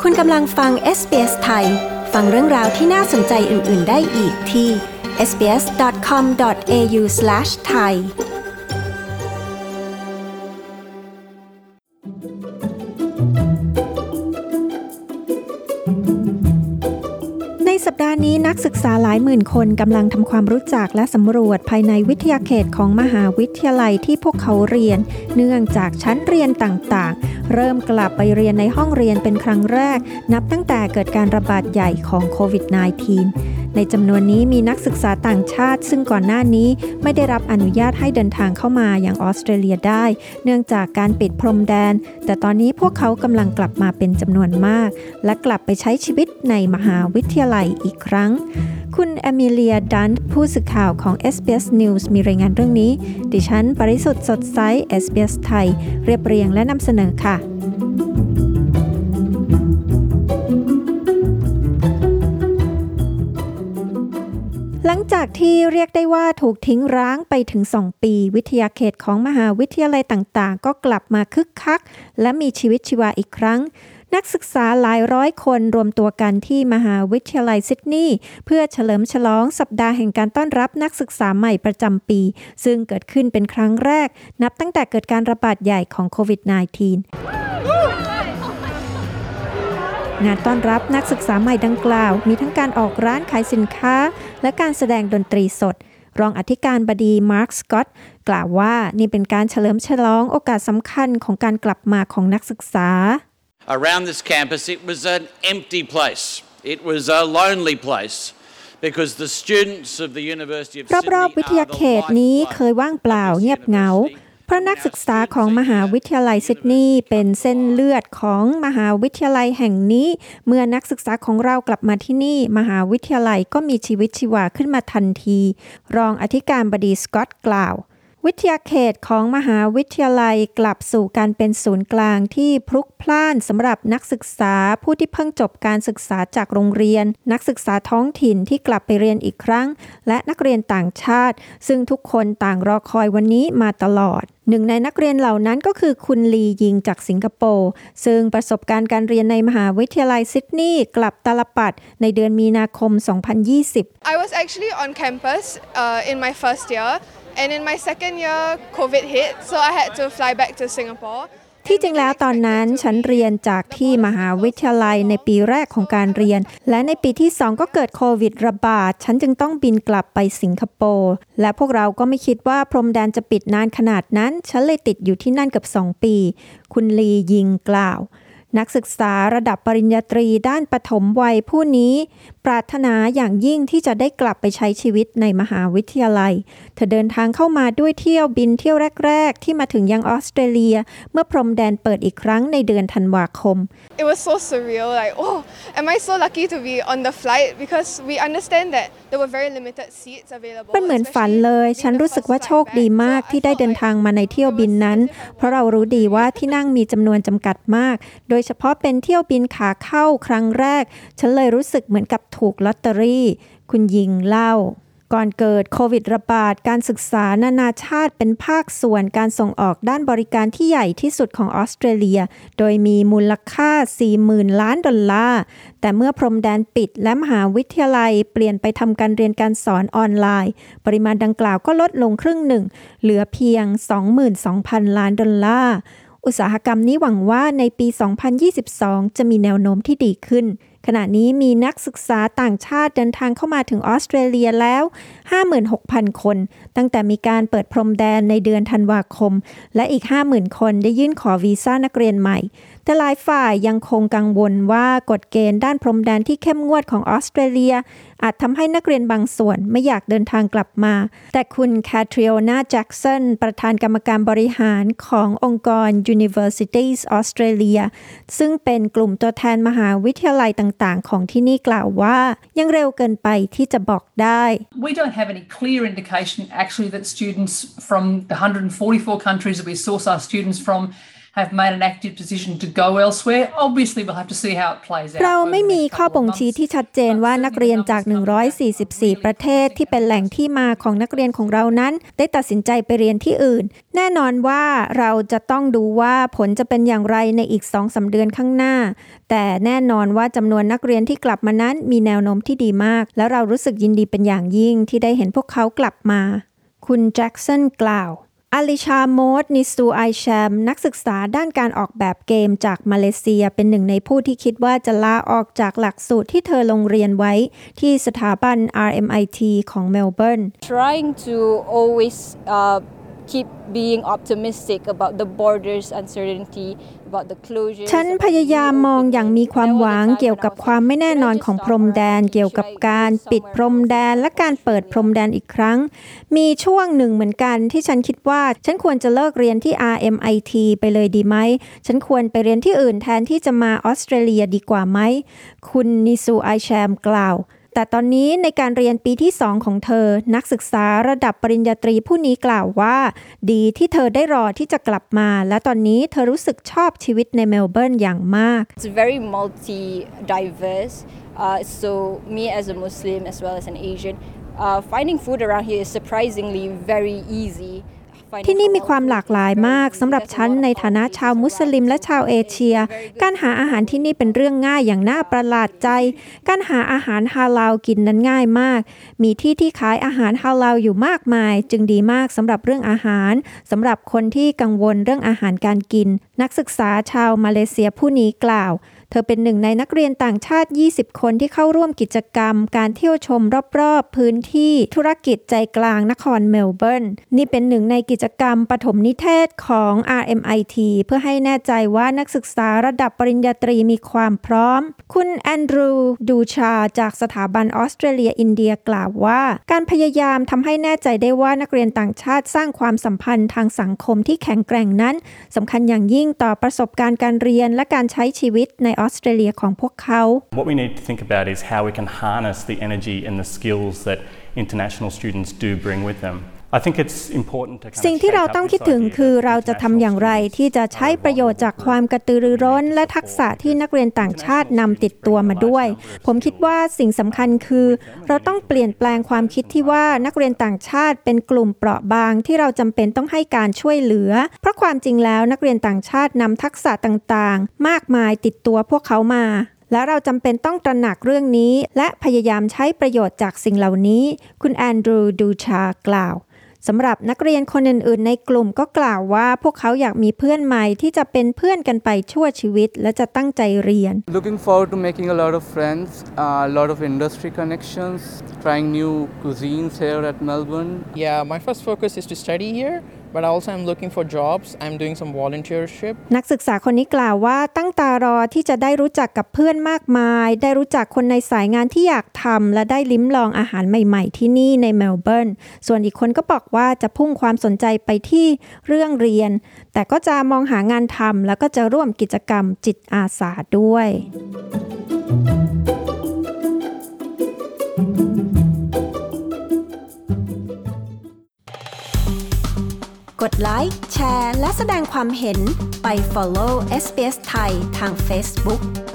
คุณกำลังฟัง SBS ไทยฟังเรื่องราวที่น่าสนใจอื่นๆได้อีกที่ sbs.com.au/thaiในสัปดาห์นี้นักศึกษาหลายหมื่นคนกำลังทำความรู้จักและสำรวจภายในวิทยาเขตของมหาวิทยาลัยที่พวกเขาเรียนเนื่องจากชั้นเรียนต่างๆเริ่มกลับไปเรียนในห้องเรียนเป็นครั้งแรกนับตั้งแต่เกิดการระบาดใหญ่ของโควิด -19 ในจำนวนนี้มีนักศึกษาต่างชาติซึ่งก่อนหน้านี้ไม่ได้รับอนุญาตให้เดินทางเข้ามาอย่างออสเตรเลียได้เนื่องจากการปิดพรมแดนแต่ตอนนี้พวกเขากำลังกลับมาเป็นจำนวนมากและกลับไปใช้ชีวิตในมหาวิทยาลัยอีกครั้งคุณเอมิเลียดันท์ผู้สื่อข่าวของ SBS News มีรายงานเรื่องนี้ดิฉันปริสุทธิ์สดใส SBS ไทยเรียบเรียงและนำเสนอค่ะหลังจากที่เรียกได้ว่าถูกทิ้งร้างไปถึง2 ปีวิทยาเขตของมหาวิทยาลัยต่างๆก็กลับมาคึกคักและมีชีวิตชีวาอีกครั้งนักศึกษาหลายร้อยคนรวมตัวกันที่มหาวิทยาลัยซิดนีย์เพื่อเฉลิมฉลองสัปดาห์แห่งการต้อนรับนักศึกษาใหม่ประจำปีซึ่งเกิดขึ้นเป็นครั้งแรกนับตั้งแต่เกิดการระบาดใหญ่ของโควิด -19 งานต้อนรับนักศึกษาใหม่ดังกล่าวมีทั้งการออกร้านขายสินค้าและการแสดงดนตรีสดรองอธิการบดีมาร์ค สก็อตกล่าวว่านี่เป็นการเฉลิมฉลองโอกาสสำคัญของการกลับมาของนักศึกษา Around this campus it was an empty place. It was a lonely place because the students of the University of Sydney รอบๆวิทยาเขตนี้เคยว่างเปล่าเงียบเหงาเพราะนักศึกษาของมหาวิทยาลัยซิดนีย์เป็นเส้นเลือดของมหาวิทยาลัยแห่งนี้เมื่อนักศึกษาของเรากลับมาที่นี่มหาวิทยาลัยก็มีชีวิตชีวาขึ้นมาทันทีรองอธิการบดีสก็อตกล่าววิทยาเขตของมหาวิทยาลัยกลับสู่การเป็นศูนย์กลางที่พลุกพล่านสำหรับนักศึกษาผู้ที่เพิ่งจบการศึกษาจากโรงเรียนนักศึกษาท้องถิ่นที่กลับไปเรียนอีกครั้งและนักเรียนต่างชาติซึ่งทุกคนต่างรอคอยวันนี้มาตลอดหนึ่งในนักเรียนเหล่านั้นก็คือคุณลียิงจากสิงคโปร์ซึ่งประสบการณ์การเรียนในมหาวิทยาลัยซิดนีย์กลับตาลปัตรในเดือนมีนาคม 2020 I was actually on campus in my first year.And in my second year, COVID hit, so I had to fly back to Singapore. ที่จริงแล้วตอนนั้นฉันเรียนจากที่มหาวิทยาลัยในปีแรกของการเรียนและในปีที่2ก็เกิดโควิดระบาดฉันจึงต้องบินกลับไปสิงคโปร์และพวกเราก็ไม่คิดว่าพรมแดนจะปิดนานขนาดนั้นฉันเลยติดอยู่ที่นั่นเกือบ2 ปีคุณลียิงกล่าวนักศึกษาระดับปริญญาตรีด้านปฐมวัยผู้นี้ปรารถนาอย่างยิ่งที่จะได้กลับไปใช้ชีวิตในมหาวิทยาลัยเธอเดินทางเข้ามาด้วยเที่ยวบินเที่ยวแรกๆที่มาถึงยังออสเตรเลียเมื่อพรมแดนเปิดอีกครั้งในเดือนธันวาคม It was so surreal, like, oh, am I so lucky to be on the flight because we understand that there were very limited seats available. มันเหมือนฝันเลยฉันรู้สึกว่าโชคดีมากที่ได้เดินทางมาในเที่ยวบินนั้นเพราะเรารู้ดีว่าที่นั่งมีจำนวนจำกัดมากโดยเฉพาะเป็นเที่ยวบินขาเข้าครั้งแรกฉันเลยรู้สึกเหมือนกับถูกลอตเตอรี่คุณยิงเล่าก่อนเกิดโควิดระบาดการศึกษานานาชาติเป็นภาคส่วนการส่งออกด้านบริการที่ใหญ่ที่สุดของออสเตรเลียโดยมีมูลค่า 40,000 ล้านดอลลาร์แต่เมื่อพรมแดนปิดและมหาวิทยาลัยเปลี่ยนไปทำการเรียนการสอนออนไลน์ปริมาณดังกล่าวก็ลดลงครึ่งหนึ่งเหลือเพียง 22,000 ล้านดอลลาร์อุตสาหกรรมนี้หวังว่าในปี 2022 จะมีแนวโน้มที่ดีขึ้นขณะนี้มีนักศึกษาต่างชาติเดินทางเข้ามาถึงออสเตรเลียแล้ว 56,000 คนตั้งแต่มีการเปิดพรมแดนในเดือนธันวาคมและอีก 50,000 คนได้ยื่นขอวีซ่านักเรียนใหม่แต่หลายฝ่ายยังคงกังวลว่ากฎเกณฑ์ด้านพรมแดนที่เข้มงวดของออสเตรเลียอาจทำให้นักเรียนบางส่วนไม่อยากเดินทางกลับมาแต่คุณแคทริโอนาแจ็กสันประธานกรรมการบริหารขององค์กร Universities Australia ซึ่งเป็นกลุ่มตัวแทนมหาวิทยาลัยต่างๆของที่นี่กล่าวว่ายังเร็วเกินไปที่จะบอกได้ We don't have any clear indication actually that students from the 144 countries that we source our students from have made an active decision to go elsewhere. Obviously, we'll have to see how it plays out. เราไม่มีข้อบ่งชี้ที่ชัดเจนว่านักเรียนจาก144ประเทศที่เป็นแหล่งที่มาของนักเรียนของเรานั้นได้ตัดสินใจไปเรียนที่อื่นแน่นอนว่าเราจะต้องดูว่าผลจะเป็นอย่างไรในอีก 2-3 เดือนข้างหน้าแต่แน่นอนว่าจำนวนนักเรียนที่กลับมานั้นมีแนวโน้มที่ดีมากและเรารู้สึกยินดีเป็นอย่างยิ่งที่ได้เห็นพวกเขากลับมาคุณแจ็คสันกล่าวอาลิชาโมดนิสูไอแชมนักศึกษาด้านการออกแบบเกมจากมาเลเซียเป็นหนึ่งในผู้ที่คิดว่าจะลาออกจากหลักสูตรที่เธอลงเรียนไว้ที่สถาบัน RMIT ของเมลเบิร์น Trying to always keep being optimistic about the borders uncertainty about the closure ฉันพยายามมองอย่างมีความหวังเกี่ยวกับความไม่แน่นอนของพรมแดนเกี่ยวกับการปิดพรมแดนและการเปิดพรมแดนอีกครั้งมีช่วงหนึ่งเหมือนกันที่ฉันคิดว่าฉันควรจะเลิกเรียนที่ RMIT ไปเลยดีไหมฉันควรไปเรียนที่อื่นแทนที่จะมาออสเตรเลียดีกว่าไหมคุณนิสูไอแชมกล่าวแต่ตอนนี้ในการเรียนปีที่2ของเธอนักศึกษาระดับปริญญาตรีผู้นี้กล่าวว่าดีที่เธอได้รอที่จะกลับมาและตอนนี้เธอรู้สึกชอบชีวิตในเมลเบิร์นอย่างมาก It's very multi-diverse so me as a Muslim as well as an Asian finding food around here is surprisingly very easy ที่นี่มีความหลากหลายมากสำหรับฉันในฐานะชาวมุสลิมและชาวเอเชียการหาอาหารที่นี่เป็นเรื่องง่ายอย่างน่าประหลาดใจการหาอาหารฮาลาลกินนั้นง่ายมากมีที่ขายอาหารฮาลาลอยู่มากมายจึงดีมากสำหรับเรื่องอาหารสำหรับคนที่กังวลเรื่องอาหารการกินนักศึกษาชาวมาเลเซียผู้นี้กล่าวเธอเป็นหนึ่งในนักเรียนต่างชาติ20คนที่เข้าร่วมกิจกรรมการเที่ยวชมรอบๆพื้นที่ธุรกิจใจกลางนครเมลเบิร์นนี่เป็นหนึ่งในกิจกรรมปฐมนิเทศของ RMIT เพื่อให้แน่ใจว่านักศึกษาระดับปริญญาตรีมีความพร้อมคุณแอนดรูดูชาจากสถาบันออสเตรเลียอินเดียกล่าวว่าการพยายามทำให้แน่ใจได้ว่านักเรียนต่างชาติสร้างความสัมพันธ์ทางสังคมที่แข็งแกร่งนั้นสำคัญอย่างยิ่งต่อประสบการณ์การเรียนและการใช้ชีวิตในออสเตรเลียของพวกเขา What we need to think about is how we can harness the energy and the skills that international students do bring with them. I think it's important to สิ่งที่เราต้องคิดถึงคือเราจะทำอย่างไรที่จะใช้ประโยชน์จากความกระตือรือร้นและทักษะที่นักเรียนต่างชาตินำติดตัวมาด้วยผมคิดว่าสิ่งสำคัญคือเราต้องเปลี่ยนแปลงความคิดที่ว่านักเรียนต่างชาติเป็นกลุ่มเปราะบางที่เราจำเป็นต้องให้การช่วยเหลือเพราะความจริงแล้วนักเรียนต่างชาตินำทักษะต่างๆมากมายติดตัวพวกเขามาและเราจำเป็นต้องตระหนักเรื่องนี้และพยายามใช้ประโยชน์จากสิ่งเหล่านี้คุณแอนดรูดูชากล่าวสำหรับนักเรียนคนอื่นๆในกลุ่มก็กล่าวว่าพวกเขาอยากมีเพื่อนใหม่ที่จะเป็นเพื่อนกันไปชั่วชีวิตและจะตั้งใจเรียน Looking forward to making a lot of friends, a lot of industry connections, trying new cuisines here at Melbourne. Yeah, my first focus is to study here, but also I'm looking for jobs. I'm doing some volunteership. นักศึกษาคนนี้กล่าวว่าตั้งตารอที่จะได้รู้จักกับเพื่อนมากมายได้รู้จักคนในสายงานที่อยากทำและได้ลิ้มลองอาหารใหม่ๆที่นี่ในเมลเบิร์นส่วนอีกคนก็บอกว่าจะพุ่งความสนใจไปที่เรื่องเรียนแต่ก็จะมองหางานทำแล้วก็จะร่วมกิจกรรมจิตอาสาด้วยกดไลค์แชร์และแสดงความเห็นไป follow SBS ไทยทาง Facebook